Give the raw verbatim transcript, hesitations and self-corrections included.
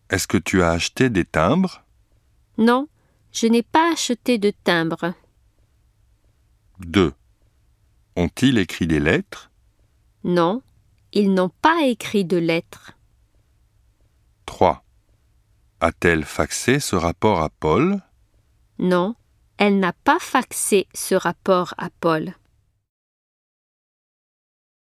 Est-ce que tu as acheté des timbres? Non, je n'ai pas acheté de timbre. deux. Ont-ils écrit des lettres? Non, ils n'ont pas écrit de lettres. trois. A-t-elle faxé ce rapport à Paul? Non, elle n'a pas faxé ce rapport à Paul.